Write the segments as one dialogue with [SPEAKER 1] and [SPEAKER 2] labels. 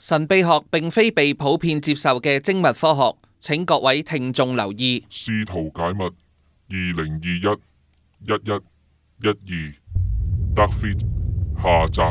[SPEAKER 1] 神秘學並非被普遍接受嘅精密科學，請各位聽眾留意。
[SPEAKER 2] 試圖解密2021-11-12 Dark Fleet 下集。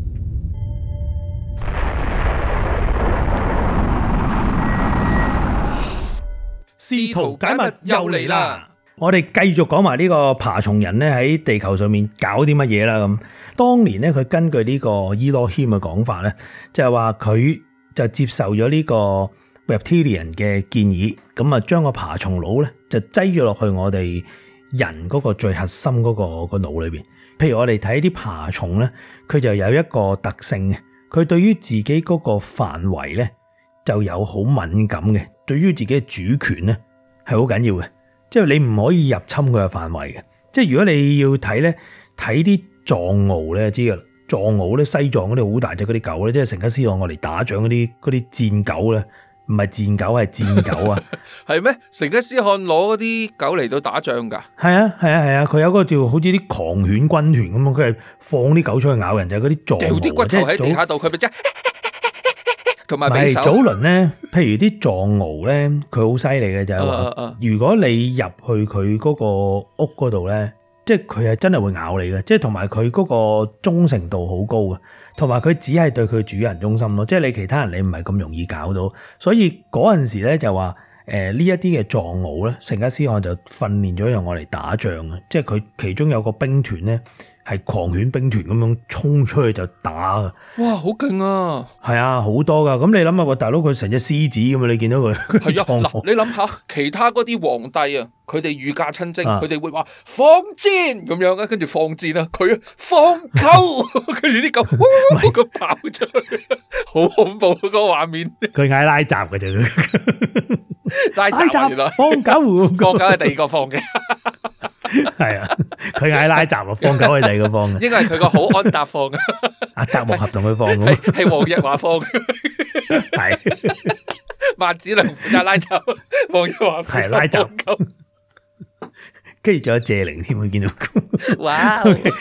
[SPEAKER 3] 試圖解密又嚟啦！我哋繼續講埋呢個爬蟲人咧喺地球上面搞啲乜嘢啦咁。當年咧佢根據呢個伊洛謙嘅講法咧，就係話佢就接受咗呢個 reptilian 嘅建議，咁啊將個爬蟲腦咧就擠咗落去我哋人嗰個最核心嗰個腦裏邊。譬如我哋睇啲爬蟲咧，佢就有一個特性嘅，佢對於自己嗰個範圍咧就有好敏感嘅，對於自己嘅主權咧係好緊要嘅。即係你唔可以入侵佢嘅範圍嘅。即係如果你要睇咧，睇啲藏獒咧，知噶啦。藏獒咧，西藏嗰啲好大隻嗰啲狗咧，即係成吉思汗我嚟打仗嗰啲戰狗咧，唔係戰狗係戰狗啊。
[SPEAKER 1] 係咩？成吉思汗攞嗰啲狗嚟到打仗噶？
[SPEAKER 3] 係啊，佢有嗰個叫好似啲狂犬軍團咁樣，佢係放啲狗出去咬人，就係嗰啲藏獒。
[SPEAKER 1] 掉啲骨頭喺地下度，佢咪即係同埋匕首。
[SPEAKER 3] 早輪咧，譬如啲藏獒咧，佢好犀利嘅就係話，如果你入去佢嗰個屋嗰度咧，即係佢係真係會咬你嘅，即係同埋佢嗰個忠誠度好高嘅，同埋佢只係對佢主人忠心咯，即係你其他人你唔係咁容易搞到，所以嗰陣時咧就話呢一啲嘅藏獒咧，成吉思汗就訓練咗用我嚟打仗嘅，即係佢其中有個兵團咧係狂犬兵團咁樣衝出去就打嘅。
[SPEAKER 1] 哇，好勁啊！
[SPEAKER 3] 係啊，好多噶。咁你諗下個大佬佢成隻獅子咁啊，你見到佢
[SPEAKER 1] 係啊，嗱，你諗下其他嗰啲皇帝啊，佢哋御駕親征，佢哋會話放箭咁樣啊，跟住放箭啊，佢放狗，跟住啲狗咁跑出去，好恐怖嗰個畫面。
[SPEAKER 3] 佢嗌拉閘嘅啫，
[SPEAKER 1] 拉閘原來
[SPEAKER 3] 放狗，
[SPEAKER 1] 放狗係第二個放嘅。
[SPEAKER 3] 係啊，佢嗌拉閘啊，放狗係第二個放嘅，
[SPEAKER 1] 應該係佢個好安達放嘅。
[SPEAKER 3] 阿澤木合同佢放嘅，
[SPEAKER 1] 係黃日華放嘅，
[SPEAKER 3] 係
[SPEAKER 1] 萬梓良負責拉閘，黃日華
[SPEAKER 3] 係拉閘，跟住仲有謝靈添，佢見到。
[SPEAKER 1] 哇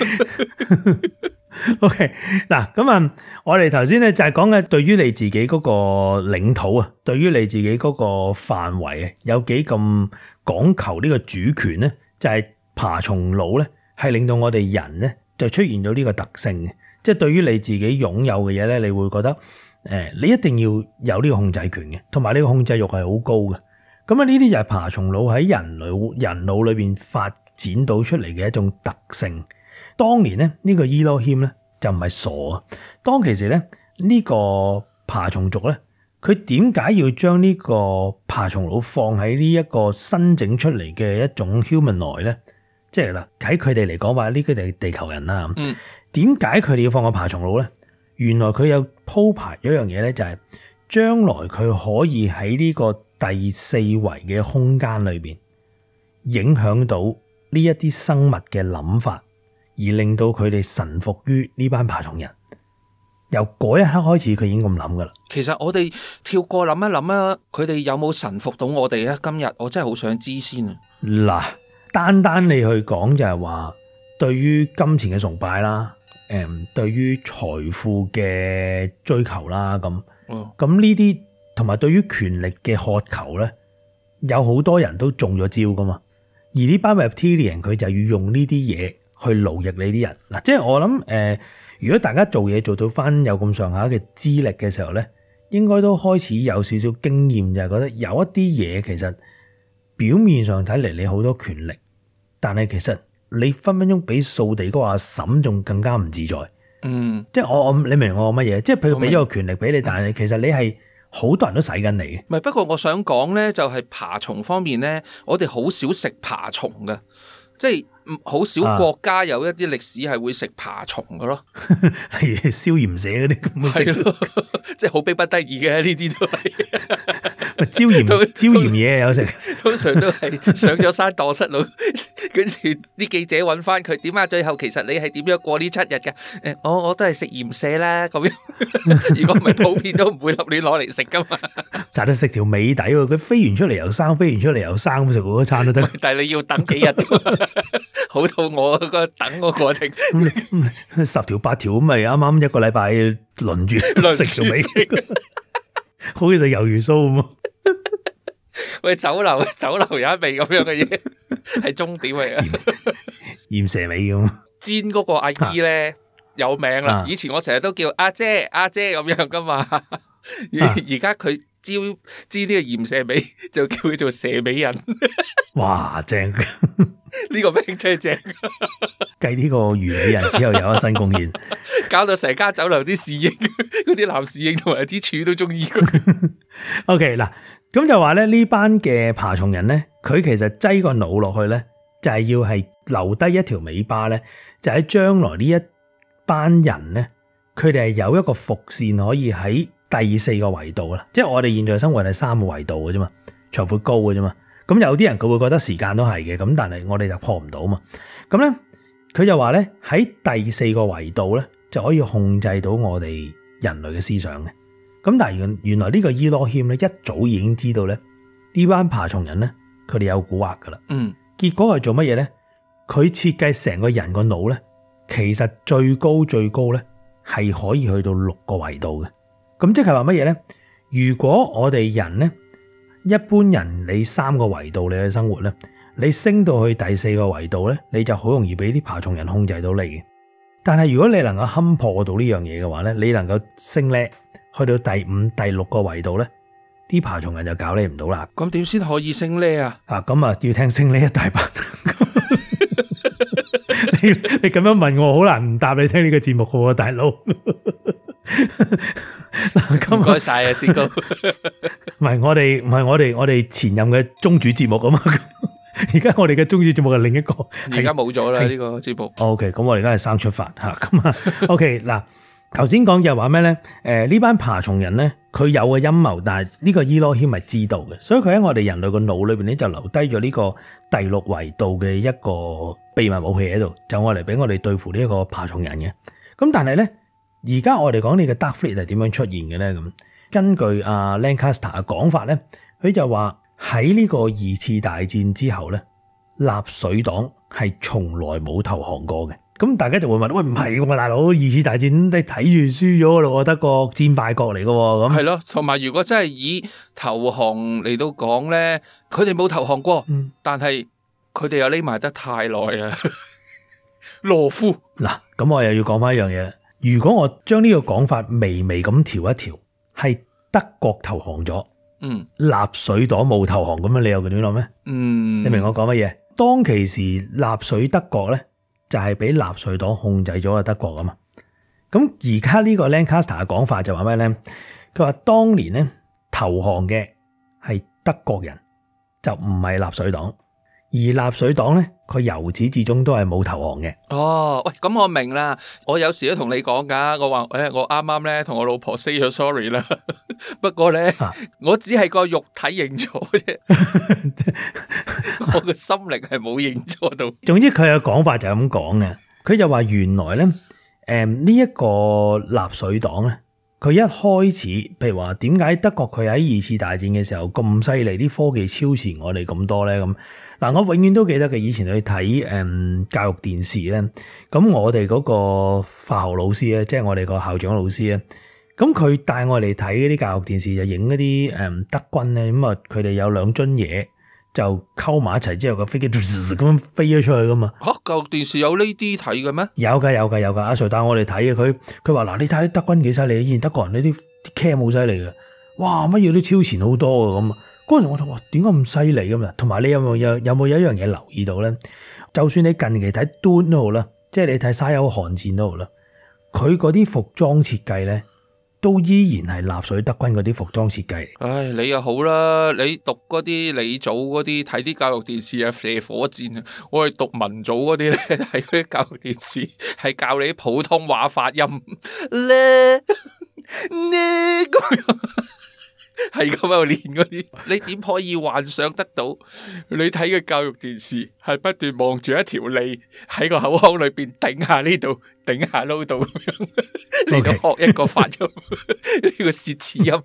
[SPEAKER 3] ！OK， 嗱咁啊，我哋頭先咧就係講嘅，對於你自己嗰個領土啊，對於你自己嗰個範圍啊，有幾咁講求呢個主權咧，就係爬蟲腦咧，係令到我哋人咧就出現咗呢個特性嘅，即係對於你自己擁有嘅嘢咧，你會覺得你一定要有呢個控制權嘅，同埋呢個控制欲係好高嘅。咁啊，呢啲就係爬蟲腦喺人腦裏邊發展到出嚟嘅一種特性。當年咧，呢個伊洛謙咧就唔係傻啊！當其時咧，呢個爬蟲族咧，佢點解要將呢個爬蟲腦放喺呢一個新整出嚟嘅一種 humanoid 咧？即係嗱，喺佢哋嚟講話，呢個係地球人啦。點解佢哋要放個爬蟲腦咧？原來佢有鋪排咗一樣嘢咧，就係將來佢可以喺呢個第四維嘅空間裏邊影響到呢一啲生物嘅諗法。而令到佢哋臣服於呢班爬蟲人，由嗰一刻開始，佢已經咁諗噶啦。
[SPEAKER 1] 其實我哋跳過諗一諗啊，佢哋有冇臣服到我哋咧？今日我真係好想知先啊！
[SPEAKER 3] 嗱，單你去講就係話，對於金錢嘅崇拜啦，對於財富嘅追求啦，咁呢啲同埋對於權力嘅渴求咧，有好多人都中咗招噶嘛。而呢班 reptilian 佢就要用呢啲嘢去奴役你啲人嗱，即係我諗如果大家做嘢做到翻有咁上下嘅資歷嘅時候咧，應該都開始有少少經驗，就係覺得有一啲嘢其實表面上睇嚟你好多權力，但係其實你分分鐘比掃地嗰個阿嬸仲更加唔自在。即係你明我乜嘢？即係佢俾咗個權力俾你，但係其實你係好多人都使緊你嘅。
[SPEAKER 1] 唔係，不過我想講咧，就係爬蟲方面咧，我哋好少食爬蟲嘅，即係。好少國家有一啲歷史係會食爬蟲嘅咯，
[SPEAKER 3] 係消炎社嗰啲咁嘅食，
[SPEAKER 1] 即係好逼不得已嘅呢啲都係。
[SPEAKER 3] 椒鹽嘢有食。
[SPEAKER 1] 通常都係上咗山蕩失路，跟住啲記者揾翻佢，點啊？最後其實你係點樣過呢7日嘅？我都係食鹽蛇啦咁樣。如果唔係普遍都唔會立亂攞嚟食噶嘛。
[SPEAKER 3] 就係食條尾底喎，佢飛完出嚟又生，飛完出嚟又生，咁食好多餐都得。
[SPEAKER 1] 但係你要等幾日㗎嘛，好肚餓嗰個等個過程。
[SPEAKER 3] 10條8條咁咪啱啱一個禮拜輪住食條尾，好似食魷魚鬚咁。
[SPEAKER 1] 喂，酒樓有一味咁樣嘅嘢，係終點嚟嘅。
[SPEAKER 3] 鹽蛇尾咁。
[SPEAKER 1] 煎嗰個阿姨咧有名啦，以前我成日都叫阿姐咁樣噶嘛，而家佢煎呢個鹽蛇尾就叫佢做蛇尾人。
[SPEAKER 3] 哇，正！
[SPEAKER 1] 呢個名真係正。
[SPEAKER 3] 繼呢個魚尾人之後有一新貢獻，
[SPEAKER 1] 搞到成間酒樓啲侍應，嗰啲男侍應同埋啲廚都中意佢。
[SPEAKER 3] OK 嗱，咁就話咧呢班嘅爬蟲人咧，佢其實擠個腦落去咧，就係要係留低一條尾巴咧，就喺將來呢一班人咧，佢哋係有一個伏線可以喺第4個維度啦。即係我哋現在生活係3個維度嘅啫嘛，長闊高嘅啫嘛。咁有啲人佢會覺得時間都係嘅，咁但係我哋就破唔到嘛。咁咧，佢就話咧喺第4個維度咧就可以控制到我哋人類嘅思想嘅。咁但係原來呢個伊羅謙咧一早已經知道咧呢班爬蟲人咧佢哋有蠱惑噶啦。結果係做乜嘢咧？佢設計成個人個腦咧，其實最高咧係可以去到6個維度嘅。咁即係話乜嘢咧？如果我哋人咧，一般人你3個維度你去生活咧，你升到去第4個維度咧，你就好容易俾啲爬蟲人控制到你嘅。但係如果你能夠勘破到呢樣嘢嘅話咧，你能夠升叻去到第5、第6個維度咧，啲爬蟲人就搞你唔到啦。
[SPEAKER 1] 咁點先可以升叻啊？
[SPEAKER 3] 咁啊要聽升叻一大班。你咁樣問我，好難唔答你聽呢個節目嘅喎，大佬。
[SPEAKER 1] 唔該晒啊，師哥。
[SPEAKER 3] 唔係我哋前任嘅宗主節目啊嘛。而家我哋嘅宗主節目係另一個，
[SPEAKER 1] 而家冇咗啦呢個節目。
[SPEAKER 3] OK，咁我哋而家係生出發吓，咁啊 OK 嗱，頭先講就係話咩咧？呢班爬蟲人咧，佢有個陰謀，但係呢個伊羅謙係知道嘅，所以佢喺我哋人類個腦裏邊咧就留低咗呢個第6維度嘅一個秘密武器喺度，就愛嚟俾我哋對付呢一個爬蟲人嘅。咁但係咧，而家我哋講呢個 Dark Fleet 係點樣出現嘅咧？咁根據阿 Lancaster 嘅講法咧，佢就話喺呢個2次大戰之後咧，納粹黨係從來冇投降過嘅。咁大家就會問：喂，唔係喎，大佬，2次大戰你睇住輸咗咯，德國戰敗國嚟嘅喎。咁
[SPEAKER 1] 係咯，同埋如果真係以投降嚟到講咧，佢哋冇投降過，但係佢哋又匿埋得太耐啦。羅夫
[SPEAKER 3] 嗱，咁我又要講翻一樣嘢。如果我將呢個講法微微咁調一調，係德國投降咗，納粹黨冇投降，咁樣你又點諗咩？你明我講乜嘢？當其時納粹德國咧，就係俾納粹黨控制咗嘅德國啊嘛。咁而家呢個 Lancaster 嘅講法就話咩咧？佢話當年咧投降嘅係德國人，就唔係納粹黨。而納粹黨咧，佢由始至終都係冇投降嘅。
[SPEAKER 1] 哦，喂，咁我明啦。我有時都同你講噶，我話我啱啱咧同我老婆 say 咗 sorry 啦。不過咧，我只係個肉體認錯啫，我個心靈係冇認錯到。
[SPEAKER 3] 總之佢嘅講法就係咁講嘅。佢就話原來咧，呢一個納粹黨咧，佢一開始，譬如話點解德國佢喺2次大戰嘅時候咁犀利，啲科技超前我哋咁多咧？咁嗱，我永遠都記得嘅，以前去睇教育電視咧，咁我哋嗰個化學老師咧，即係我哋個校長老師咧，咁佢帶我哋睇嗰啲教育電視就影嗰啲德軍咧，咁啊佢哋有2樽嘢就溝埋一齊之後個飛機咁樣飛咗出去噶嘛。
[SPEAKER 1] 嚇，教育電視有呢啲睇嘅咩？
[SPEAKER 3] 有㗎，阿 Sir 帶我哋睇嘅，佢話嗱，你睇啲德軍幾犀利，以前德國人呢啲 cam 好犀利嘅，哇，乜嘢都超前好多嘅咁啊！嗰陣我就話點解咁犀利咁啊？同埋你有冇一樣嘢留意到咧？就算你近期睇 Dune 都好啦，即係你睇沙丘寒戰都好啦，佢嗰啲服裝設計咧，都依然係納粹德軍嗰啲服裝設計。
[SPEAKER 1] 唉，你又好啦，你讀嗰啲你組嗰啲睇啲教育電視啊，射火箭啊，我係讀文組嗰啲咧，睇嗰啲教育電視係教你啲普通話發音咧咁樣。 係咁喺度練嗰啲。你點可以幻想得到？你睇嘅教育電視係不斷望住一條脷喺個口腔裏邊頂下呢度，頂下撈度咁樣嚟到學一個發音，呢個舌齒音。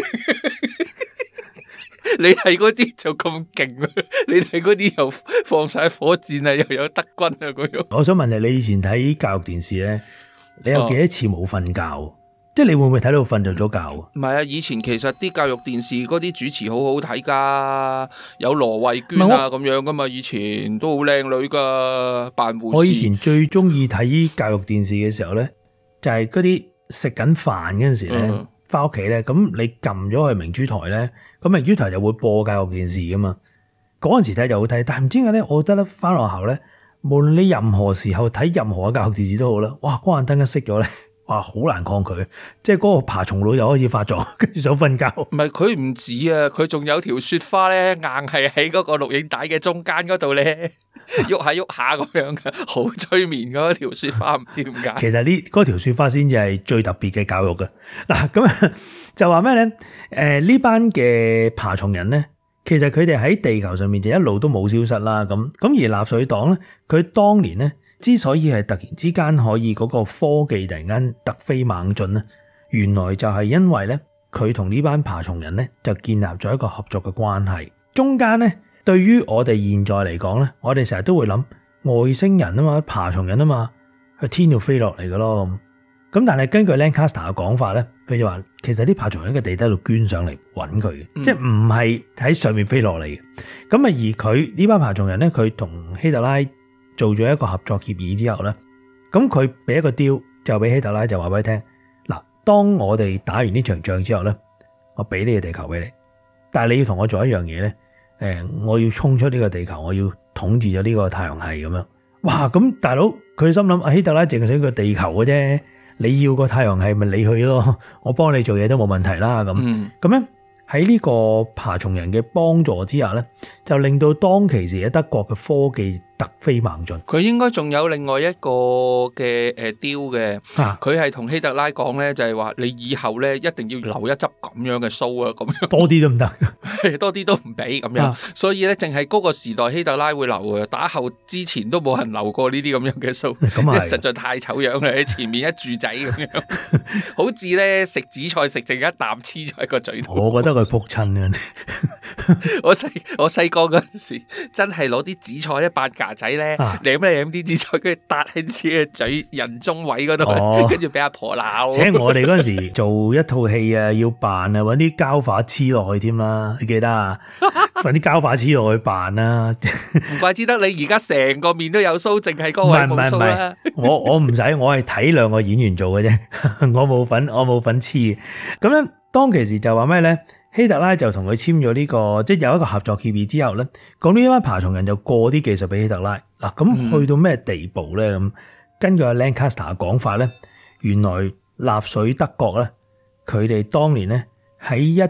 [SPEAKER 1] 你睇嗰啲就咁勁啊！你睇嗰啲又放晒火箭啊，又有德軍啊嗰樣。
[SPEAKER 3] 我想問你以前睇教育電視咧，你有幾多次冇瞓覺？即係你會唔會睇到瞓着咗覺啊？
[SPEAKER 1] 唔係啊，以前其實啲教育電視嗰啲主持好好睇噶，有羅慧娟啊咁樣噶嘛，以前都好靚女噶，扮護士。
[SPEAKER 3] 我以前最中意睇教育電視嘅時候咧，就係嗰啲食緊飯嗰陣時咧。翻屋企咧，咁你撳咗去明珠台咧，咁明珠台就會播教育電視噶嘛。嗰陣時睇就好睇，但係唔知點解咧，我覺得咧翻學校咧，無論你任何時候睇任何嘅教育電視都好啦，哇，嗰盞燈一熄咗咧，哇，好難抗拒，即係嗰個爬蟲腦又開始發作，跟住想瞓覺。唔
[SPEAKER 1] 係佢唔止啊，佢仲有條雪花咧，硬係喺嗰個錄影帶嘅中間嗰度咧。喐下喐下咁樣嘅，好催眠嗰條雪花，唔知點解。
[SPEAKER 3] 其實呢嗰條雪花先至係最特別嘅教育嘅。嗱，咁就話咩咧？呢班嘅爬蟲人咧，其實佢哋喺地球上面就一路都冇消失啦。咁而納粹黨咧，佢當年咧之所以係突然之間可以嗰個科技突然間突飛猛進咧，原來就係因為咧佢同呢班爬蟲人咧就建立咗一個合作嘅關係，中間咧。對於我哋現在嚟講咧，我哋成日都會諗外星人啊嘛，爬蟲人啊嘛，去天度飛落嚟嘅咯。咁但係根據 Lancaster 嘅講法咧，佢就話其實啲爬蟲人喺個地底度捐上嚟揾佢嘅，即係唔係喺上面飛落嚟嘅。咁啊，而佢呢班爬蟲人咧，佢同希特拉做咗一個合作協議之後咧，咁佢俾一個 deal，就俾希特拉就話俾佢聽，嗱，當我哋打完呢場仗之後咧，我俾呢個地球俾你，但係你要同我做一樣嘢咧。我要衝出呢個地球，我要統治咗呢個太陽系咁樣。哇！咁大佬佢心諗，希特拉淨係想個地球嘅啫，你要個太陽系咪你去咯，我幫你做嘢都冇問題啦。咁樣喺呢個爬蟲人嘅幫助之下咧，就令到當其時喺德國嘅科技突飛猛進。
[SPEAKER 1] 佢應該仲有另外一個嘅deal嘅，佢係同希特拉講咧，就係話你以後咧一定要留一執咁樣嘅鬚啊，咁樣
[SPEAKER 3] 多啲都唔得，
[SPEAKER 1] 多啲都唔俾咁樣。所以咧，淨係嗰個時代希特拉會留嘅，打後之前都冇人留過呢啲咁樣嘅鬚，因為實在太醜樣啦，喺前面一柱仔咁樣，好似咧食紫菜食剩一啖黐咗喺個嘴度。
[SPEAKER 3] 我覺得佢仆親啊！
[SPEAKER 1] 我細個嗰陣時，真係攞啲紫菜咧扮架仔咧，舐啲紫菜，跟住搭喺自己嘅嘴人中位嗰度，跟住俾阿婆鬧。
[SPEAKER 3] 請我哋嗰陣時做一套戲啊，要扮啊，搵啲膠化黐落去添啦，你記得啊？搵啲膠化黐落去扮啦。
[SPEAKER 1] 唔怪之得你而家成個面都有鬚，淨係嗰位冇鬚啦。
[SPEAKER 3] 我唔使，我係睇兩個演員做嘅啫，我冇份黐。咁咧，當其時就話咩咧？希特拉就同佢簽咗呢個，即係有一個合作協議之後咧，咁呢班爬蟲人就過啲技術俾希特拉。嗱，咁去到咩地步咧？咁根據阿 Lancaster 嘅講法咧，原來納粹德國咧，佢哋當年咧喺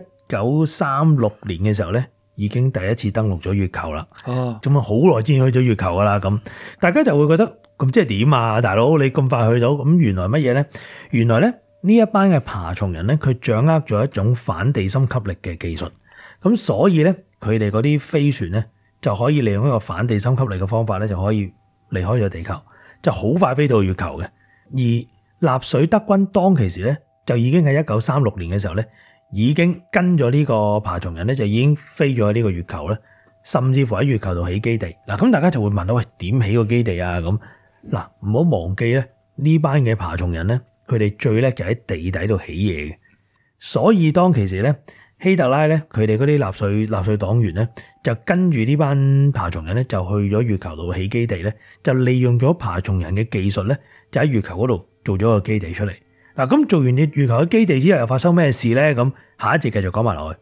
[SPEAKER 3] 1936年嘅時候咧，已經第一次登陸咗月球啦。哦，咁啊好耐之前去咗月球噶啦。咁大家就會覺得，咁即係點啊，大佬你咁快去到？咁原來乜嘢咧？原來咧。呢一班嘅爬蟲人咧，佢掌握咗一種反地心吸力嘅技術，咁所以咧，佢哋嗰啲飛船咧就可以利用一個反地心吸力嘅方法咧，就可以離開咗地球，就好快飛到月球嘅。而納粹德軍當其時咧，就已經喺1936年嘅時候咧，已經跟咗呢個爬蟲人咧，就已經飛咗喺呢個月球咧，甚至乎喺月球度起基地。嗱，咁大家就會問到，喂，點起個基地啊？咁嗱，唔好忘記咧，呢班嘅爬蟲人咧。佢哋最叻就喺地底度起嘢嘅，所以當其時咧，希特拉咧，佢哋嗰啲納粹黨員咧，就跟住呢班爬蟲人咧，就去咗月球度起基地咧，就利用咗爬蟲人嘅技術咧，就喺月球嗰度做咗個基地出嚟。嗱，咁做完啲月球嘅基地之後，又發生咩事咧？咁下一節繼續講埋落去。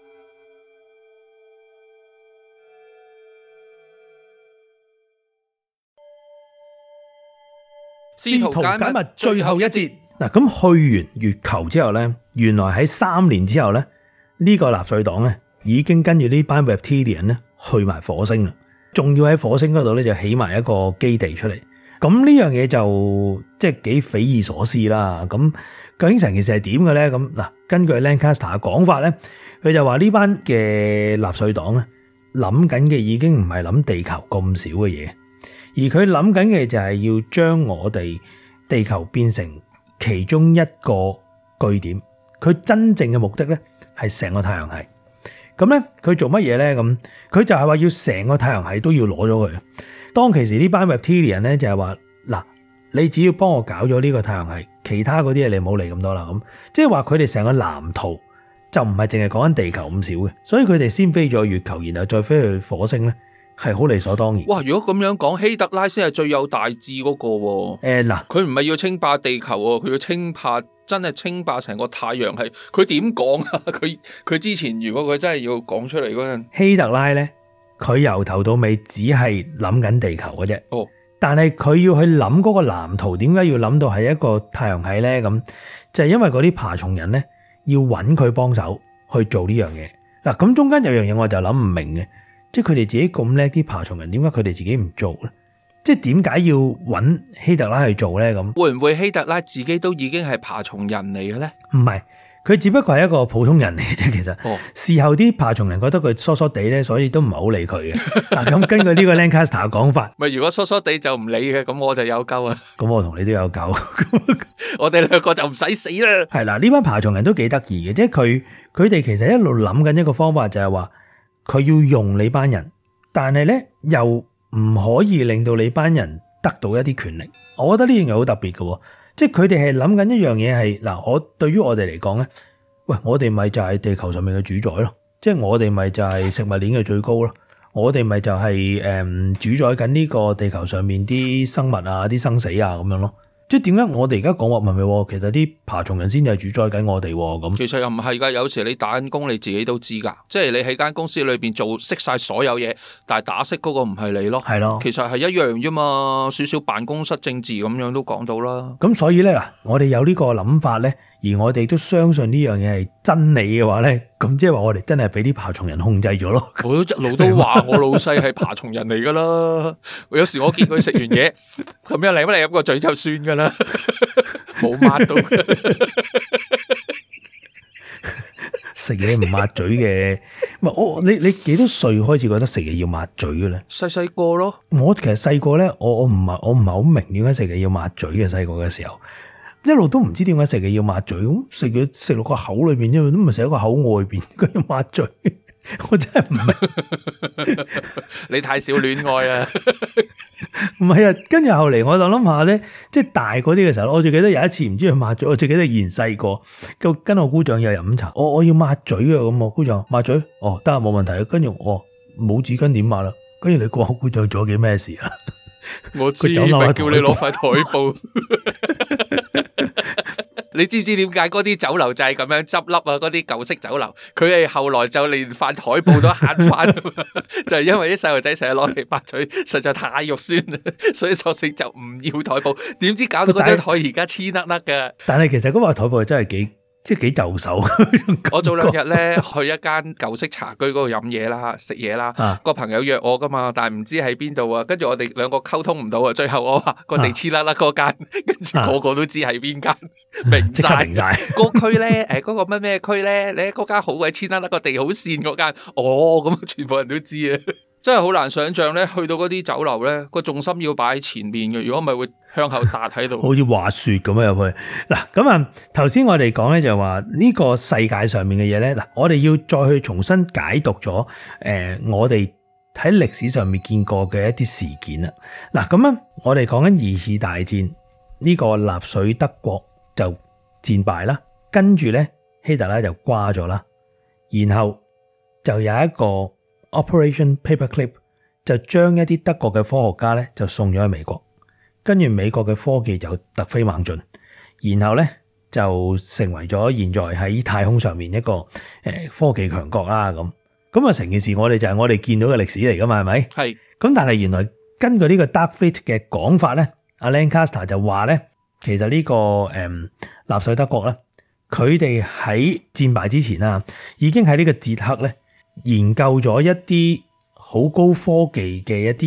[SPEAKER 1] 試圖解密最後一節。
[SPEAKER 3] 嗱，咁去完月球之後咧，原來喺3年之後咧，呢個納粹黨咧已經跟住呢班 Reptilian 咧去埋火星啦，仲要喺火星嗰度咧就起埋一個基地出嚟。 咁呢樣嘢就即係幾匪夷所思啦。咁究竟成件事係點嘅咧？咁嗱，根據 Lancaster 嘅講法咧，佢就話呢班嘅納粹黨咧諗緊嘅已經唔係諗地球咁少嘅嘢，而佢諗緊嘅就係要將我哋地球變成其中一個據點。佢真正嘅目的咧係成個太陽系。咁咧佢做乜嘢咧？咁佢就係話要成個太陽系都要攞咗佢。當其時呢班 reptilian 咧就係話嗱，你只要幫我搞咗呢個太陽系，其他嗰啲嘢你唔好理咁多啦。咁即係話佢哋成個藍圖就唔係淨係講緊地球咁少嘅，所以佢哋先飛咗月球，然後再飛去火星咧，係好理所當然。
[SPEAKER 1] 哇！如果咁樣講，希特拉先係最有大志嗰個喎。
[SPEAKER 3] 嗱，
[SPEAKER 1] 佢唔係要稱霸地球喎，佢要真係稱霸成個太陽系。佢點講啊？佢之前如果佢真係要講出嚟嗰陣，
[SPEAKER 3] 希特拉咧，佢由頭到尾只係諗緊地球嘅啫。
[SPEAKER 1] 哦，
[SPEAKER 3] 但係佢要去諗嗰個藍圖，點解要諗到係一個太陽系咧？咁就係因為嗰啲爬蟲人咧要揾佢幫手去做呢樣嘢。嗱，咁中間有樣嘢我就諗唔明嘅，即係佢哋自己咁叻啲爬蟲人，點解佢哋自己唔做咧？即係點解要揾希特拉去做咧？咁
[SPEAKER 1] 會唔會希特拉自己都已經係爬蟲人嚟嘅咧？
[SPEAKER 3] 唔係，佢只不過係一個普通人嚟嘅啫。其實，事後啲爬蟲人覺得佢疏疏地咧，所以都唔係好理佢嘅。嗱，咁根據呢個 Lancaster 嘅講法，
[SPEAKER 1] 咪如果疏疏地就唔理嘅，咁我就有救啊！
[SPEAKER 3] 咁我同你都有救，
[SPEAKER 1] 我哋兩個就唔使死啦。
[SPEAKER 3] 係啦，呢班爬蟲人都幾得意嘅，即係佢哋其實一路諗緊一個方法，就係話佢要用你班人，但係咧又唔可以令到你班人得到一啲權力。我覺得呢樣嘢好特別嘅，即係佢哋係諗緊一樣嘢係嗱，我對於我哋嚟講咧，喂，我哋咪就係地球上面嘅主宰咯，即係我哋咪就係食物鏈嘅最高咯，我哋咪就係主宰緊呢個地球上面啲生物啊、啲生死啊咁樣咯。即係點解我哋而家講話唔係？其實啲爬蟲人先至係主宰緊我哋咁。
[SPEAKER 1] 其實又唔係㗎，有時你打緊工你自己都知㗎，即係你喺間公司裏邊做識晒所有嘢，但係打識嗰個唔係你咯。係咯，其實係一樣啫嘛，少少辦公室政治咁樣都講到啦。
[SPEAKER 3] 咁所以咧嗱，我哋有呢個諗法咧，而我哋都相信呢樣嘢係真理嘅話咧，咁即係話我哋真係俾啲爬蟲人控制咗咯。
[SPEAKER 1] 我一路都話我老細係爬蟲人嚟㗎啦。有時我見佢食完嘢咁樣嚟乜嚟入個嘴就算㗎啦，冇抹到。
[SPEAKER 3] 食嘢唔抹嘴嘅，你幾多歲開始覺得食嘢要抹嘴嘅咧？
[SPEAKER 1] 細個咯。我
[SPEAKER 3] 其實細個咧，我唔係好明點解食嘢要抹嘴嘅。細個嘅時候，一路都唔知點解食嘢要抹嘴。咁食嘢食落個口裏邊，因為都唔係食喺個口外邊，佢要抹嘴。我真係唔明。
[SPEAKER 1] 你太少戀愛啦。
[SPEAKER 3] 唔係啊，跟住後嚟我就諗下咧，即係大嗰啲嘅時候，我最記得有一次唔知佢抹嘴，我最記得以前細個，跟我姑丈又飲茶，我要抹嘴啊，咁我姑丈抹嘴，哦，得啊，冇問題。跟住我冇紙巾點抹啦？跟住你估我姑丈做咗幾咩事啊？
[SPEAKER 1] 我知，咪叫你攞塊台布。你知唔知點解嗰啲酒樓就係咁樣執笠啊？嗰啲舊式酒樓，佢係後來就連塊台布都慳翻，就係因為啲細路仔成日攞嚟抹嘴，實在太肉酸啦，所以索性就唔要台布。點知搞到嗰張台而家黐甩甩嘅。但係其實嗰塊台布真係幾就手。我早兩日咧去一間舊式茶居嗰度飲嘢啦、食嘢啦，個朋友約我噶嘛，但係唔知喺邊度啊。跟住我哋兩個溝通唔到啊。最後我話個地黐甩甩嗰間，跟住個個都知係邊間，明晒。個區咧，嗰個乜咩區咧？你嗰間好鬼黐甩甩，個地好跣嗰間，咁全部人都知啊。真係好難想象咧，去到嗰啲酒樓咧，個重心要擺喺前面嘅，如果唔係會向後搭喺度，好似滑雪咁樣入去。嗱，咁啊，頭先我哋講咧就係話呢個世界上面嘅嘢咧，嗱，我哋要再去重新解讀咗我哋喺歷史上面見過嘅一啲事件啦。嗱，咁啊，我哋講緊二次大戰呢個納粹德國就戰敗啦，跟住咧希特拉就瓜咗啦，然後就有一個Operation Paperclip 就將一啲德國嘅科學家咧就送咗去美國，跟住美國嘅科技就突飛猛進，然後咧就成為咗現在喺太空上面一個科技強國啦。咁啊，成件事我哋就係我哋見到嘅歷史嚟噶嘛，係咪？係。咁但係原來根據呢個 Dark Fleet 嘅講法咧，阿 Lancaster 就話咧，其實呢個納粹德國咧，佢哋喺戰敗之前啊，已經喺呢個捷克咧研究咗一啲好高科技嘅一啲嘢，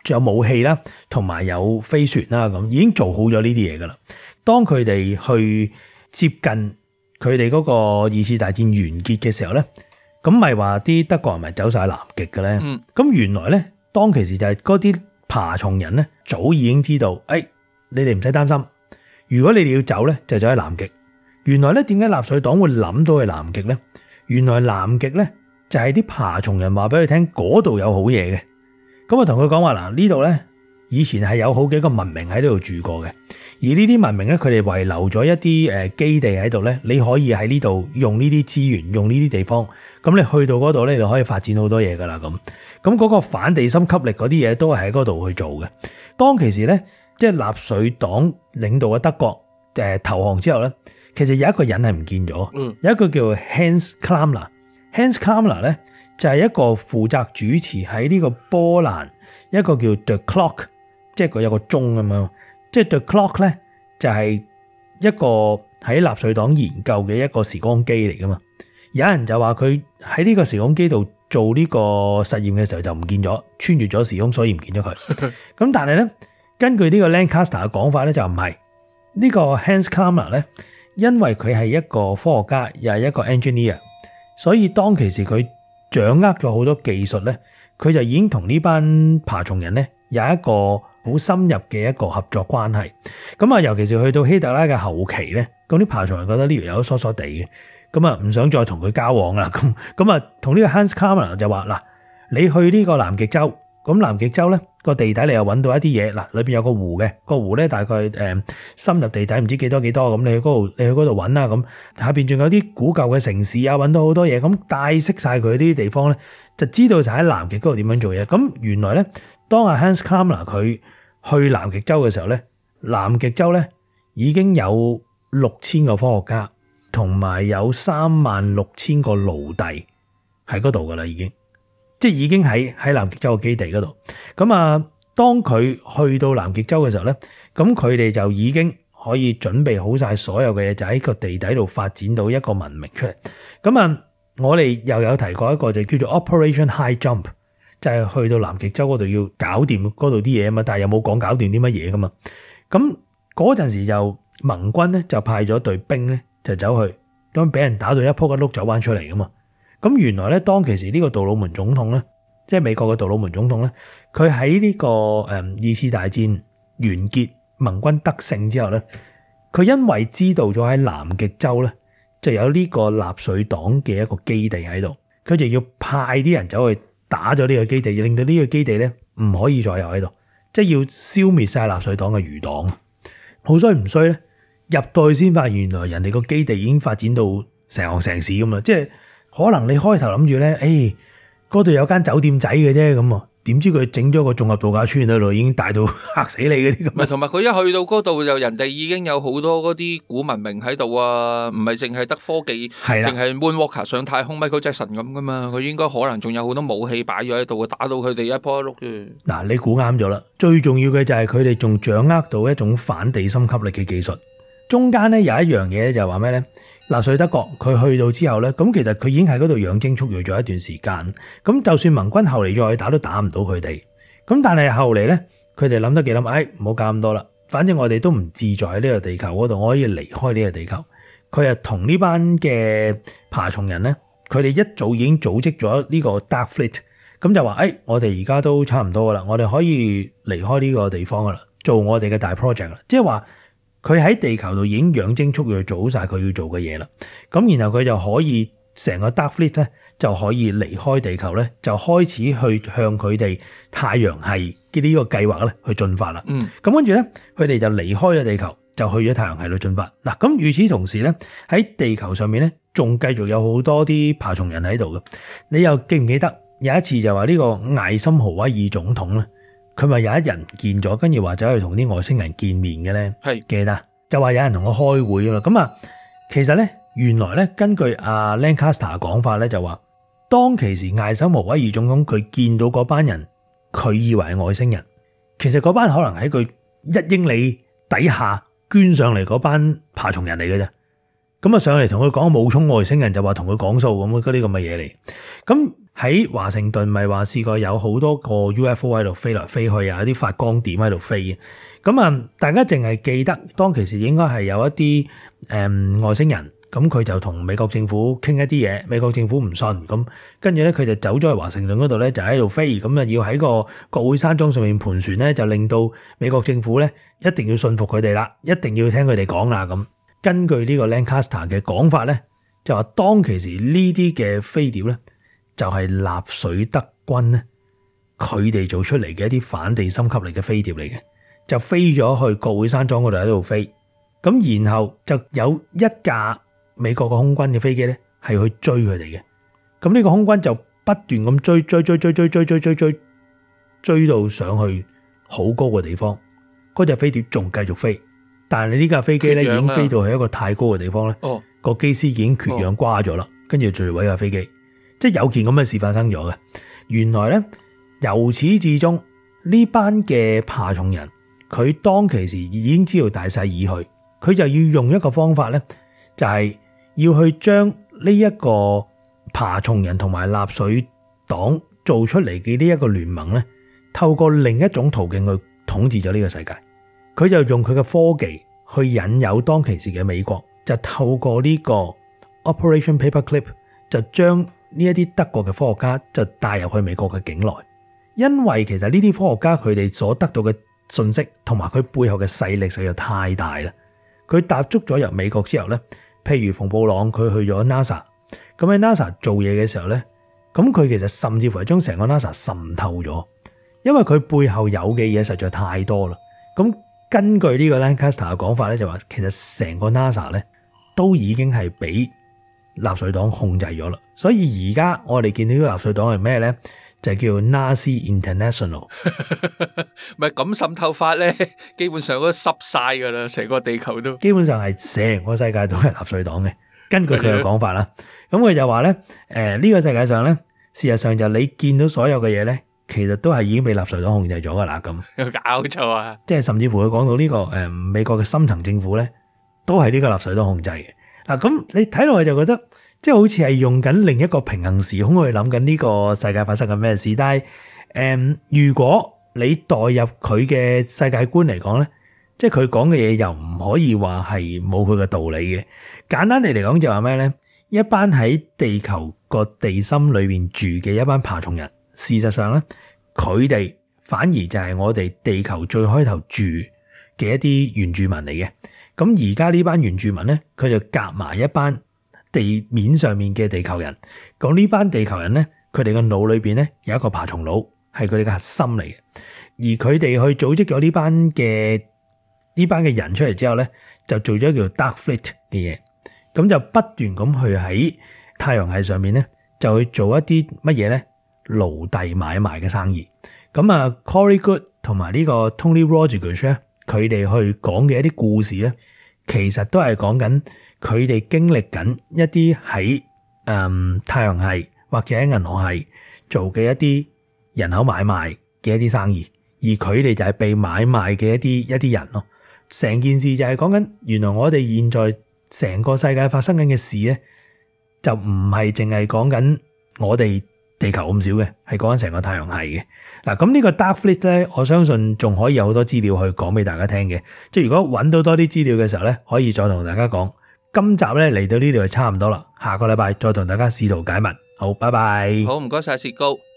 [SPEAKER 3] 有武器啦，同埋有飛船啦，咁已經做好咗呢啲嘢噶啦。當佢哋去接近佢哋嗰個二次大戰完結嘅時候咧，咁咪話啲德國人咪走晒南極嘅咧。咁原來咧，當其時就係嗰啲爬蟲人咧，早已經知道，你哋唔使擔心，如果你哋要走咧，就走喺南極。原來咧，點解納粹黨會諗到去南極咧？原來南極咧就係啲爬蟲人話俾佢聽，嗰度有好嘢嘅。咁我同佢講話嗱，呢度咧以前係有好幾個文明喺呢度住過嘅，而呢啲文明咧，佢哋遺留咗一啲基地喺度咧，你可以喺呢度用呢啲資源，用呢啲地方，咁你去到嗰度咧，你就可以發展好多嘢噶啦咁。咁嗰個反地心吸力嗰啲嘢都係喺嗰度去做嘅。當其時咧，即係納粹黨領導嘅德國投降之後咧，其實有一個人係唔見咗，有一個叫 Hans Kammler。Hans Kammler 咧就係一個負責主持喺呢個波蘭一個叫 The Clock， 即係佢有個鐘咁樣，即係 The Clock 咧就係一個喺納粹黨研究嘅一個時光機嚟噶嘛。有人就話佢喺呢個時光機度做呢個實驗嘅時候就唔見咗，穿越咗時空，所以唔見咗佢。咁但係咧，根據呢個 Lancaster 嘅講法咧，就唔係呢個 Hans Kammler 咧，因為佢係一個科學家，又係一個 engineer， 所以當其時佢掌握咗好多技術咧，佢就已經同呢班爬蟲人咧有一個好深入嘅一個合作關係。咁啊，尤其是去到希特拉嘅後期咧，咁啲爬蟲人覺得呢條友疏疏地嘅，咁啊唔想再同佢交往啦。咁啊，同呢個 Hans Kammler 就話嗱，你去呢個南極洲，咁南極洲咧個地底你又揾到一啲嘢，嗱裏邊有個湖嘅，個湖咧大概深入地底唔知幾多咁，你去嗰度揾啦，咁下邊仲有啲古舊嘅城市啊，揾到好多嘢，咁帶識晒佢啲地方咧，就知道就喺南極嗰度點樣做嘢。咁原來咧，當阿 Hans Kammler 佢去南極洲嘅時候咧，南極洲咧已經有6000個科學家，同埋有36000個奴隸喺嗰度噶啦，已經喺南極洲嘅基地嗰度。咁啊，當佢去到南極洲嘅時候咧，咁佢哋就已經可以準備好晒所有嘅嘢，就喺個地底度發展到一個文明出嚟。咁啊，我哋又有提過一個就叫做 Operation High Jump， 就係去到南極洲嗰度要搞掂嗰度啲嘢啊嘛，但係又冇講搞掂啲乜嘢噶嘛。咁嗰陣時就盟軍咧就派咗隊兵咧就走去，咁俾人打到一仆一碌走翻出嚟噶嘛。咁原來咧，當其時呢個杜魯門總統咧，即係美國嘅杜魯門總統咧，佢喺呢個二次大戰完結，盟軍得勝之後咧，佢因為知道咗喺南極洲咧就有呢個納粹黨嘅一個基地喺度，佢就要派啲人走去打咗呢個基地，令到呢個基地咧唔可以再有喺度，即係要消滅晒納粹黨嘅餘黨。好衰唔衰咧？入到去先發現原來人哋個基地已經發展到成行成市咁啦，即係。可能你開頭諗住咧，嗰度有間酒店仔嘅啫咁啊，點知佢整咗個綜合度假村喺度，已經大到嚇死你嗰啲咁。
[SPEAKER 1] 唔係，同埋佢一去到嗰度就人哋已經有好多嗰啲古文明喺度啊，唔係淨係得科技，淨係 Moonwalker 上太空 Michael Jackson 咁噶嘛，佢應該可能仲有好多武器擺咗喺度，打到佢哋一仆一碌嘅。嗱，
[SPEAKER 3] 你估啱咗啦，最重要嘅就係佢哋仲掌握到一種反地心吸力嘅技術。中間咧有一樣嘢就係話咩咧？納粹德國佢去到之後咧，咁其實佢已經喺嗰度養精蓄銳咗一段時間。咁就算盟軍後嚟再去打都打唔到佢哋。咁但係後嚟咧，佢哋諗得幾諗，唔好搞咁多啦。反正我哋都唔自在喺呢個地球嗰度，我可以離開呢個地球。佢係同呢班嘅爬蟲人咧，佢哋一早已經組織咗呢個 Dark Fleet。咁就話我哋而家都差唔多噶啦，我哋可以離開呢個地方噶啦，做我哋嘅大 project 啦。即係話。佢喺地球度已經養精蓄銳做好晒佢要做嘅嘢啦，咁然後佢就可以成個 Dark Fleet 咧就可以離開地球咧，就開始去向佢哋太陽系嘅呢個計劃咧去進發啦。咁跟住咧，佢哋就離開咗地球，就去咗太陽系度進發。嗱，咁與此同時咧，喺地球上面咧，仲繼續有好多啲爬蟲人喺度嘅。你又記唔記得有一次就話呢個艾森豪威爾總統咧？佢咪有一人唔見咗，跟住話走去同啲外星人見面嘅咧，係記得就話有人同我開會啦。咁啊，其實咧原來咧根據阿 Lancaster 嘅講法咧，就話當其時艾森豪威爾總統佢見到嗰班人，佢以為係外星人，其實嗰班可能喺佢1英里底下捐上嚟嗰班爬蟲人嚟嘅啫。咁啊上嚟同佢講冒充外星人，就話同佢講數咁嗰啲咁嘅嘢嚟。 咁喺華盛頓咪話試過有好多個 UFO 喺度飛來飛去啊，有啲發光點喺度飛嘅。咁啊，大家淨係記得當其時應該係有一啲外星人，咁佢就同美國政府傾一啲嘢，美國政府唔信，咁跟住咧佢就走咗去華盛頓嗰度咧，就喺度飛，咁啊要喺個國會山莊上面盤旋咧，就令到美國政府咧一定要信服佢哋啦，一定要聽佢哋講啦咁。根據呢個 Lancaster 嘅講法咧，就話當其時呢啲嘅飛碟咧，就係納粹德軍咧，佢哋做出嚟嘅一啲反地心吸力嘅飛碟嚟嘅，就飛咗去國會山莊嗰度喺度飛，咁然後就有一架美國嘅空軍嘅飛機咧，係去追佢哋嘅，咁呢個空軍就不斷咁追到上去好高嘅地方，嗰隻飛碟仲繼續飛，但係你呢架飛機咧已經飛到去一個太高嘅地方咧，個機師已經缺氧瓜咗啦，跟住墜毀架飛機。即係有件咁嘅事發生咗嘅，原來咧由始至終呢班嘅爬蟲人，佢當其時已經知道大勢已去，佢就要用一個方法咧，就係要去將呢一個爬蟲人同埋納粹黨做出嚟嘅呢一個聯盟咧，透過另一種途徑去統治咗呢個世界。佢就用佢嘅科技去引誘當其時嘅美國，就透過呢個 Operation Paperclip 就將呢一啲德國嘅科學家就帶入去美國嘅境內，因為其實呢啲科學家佢哋所得到嘅信息同埋佢背後嘅勢力實在太大啦。佢踏足咗入美國之後咧，譬如馮布朗佢去咗 NASA， 咁喺 NASA 做嘢嘅時候咧，咁佢其實甚至乎係將成個 NASA 滲透咗，因為佢背後有嘅嘢實在太多啦。咁根據呢個 Lancaster 嘅講法咧，就話其實成個 NASA 咧都已經係俾納粹黨控制咗啦，所以而家我哋見到呢個納粹黨係咩咧？就係叫 Nazi International。
[SPEAKER 1] 咪咁滲透法咧，基本上都濕晒噶啦，成個地球都
[SPEAKER 3] 基本上係成個世界都係納粹黨嘅。根據佢嘅講法啦，咁佢就話咧，呢個世界上咧，事實上就你見到所有嘅嘢咧，其實都係已經被納粹黨控制咗噶啦。咁
[SPEAKER 1] 有搞錯啊！
[SPEAKER 3] 即係甚至乎佢講到呢個美國嘅深層政府咧，都係呢個納粹黨控制嘅。嗱，咁你睇落去就覺得，即係好似係用緊另一個平行時空去諗緊呢個世界發生緊咩事。但係如果你代入佢嘅世界觀嚟講咧，即係佢講嘅嘢又唔可以話係冇佢嘅道理嘅。簡單地嚟講就話咩咧？一班喺地球個地心裏邊住嘅一班爬蟲人，事實上咧，佢哋反而就係我哋地球最開頭住嘅一啲原住民嚟嘅。咁而家呢班原住民咧，佢就夾埋一班地面上面嘅地球人。咁呢班地球人咧，佢哋嘅腦裏邊咧有一個爬蟲腦，係佢哋嘅核心嚟嘅。而佢哋去組織咗呢班嘅人出嚟之後咧，就做咗叫 Dark Fleet 嘅嘢。咁就不斷咁去喺太陽系上面咧，就去做一啲乜嘢咧？奴隸買賣嘅生意。咁啊 Corey Goode 同埋呢個 Tony Rodriguez 咧，佢哋去講嘅一啲故事咧，其實都係講緊佢哋經歷緊一啲喺太陽系或者喺銀河系做嘅一啲人口買賣嘅一啲生意，而佢哋就係被買賣嘅一啲人咯。成件事就係講緊，原來我哋現在成個世界發生緊嘅事咧，就唔係淨係講緊我哋地球咁少嘅，係講緊成個太陽系嘅。嗱，咁呢個 Dark Fleet 咧，我相信仲可以有好多資料去講俾大家聽嘅。即係如果揾到多啲資料嘅時候咧，可以再同大家講。今集咧嚟到呢度就差唔多啦，下個禮拜再同大家試圖解密。好，拜拜。
[SPEAKER 1] 好，唔該晒薛高。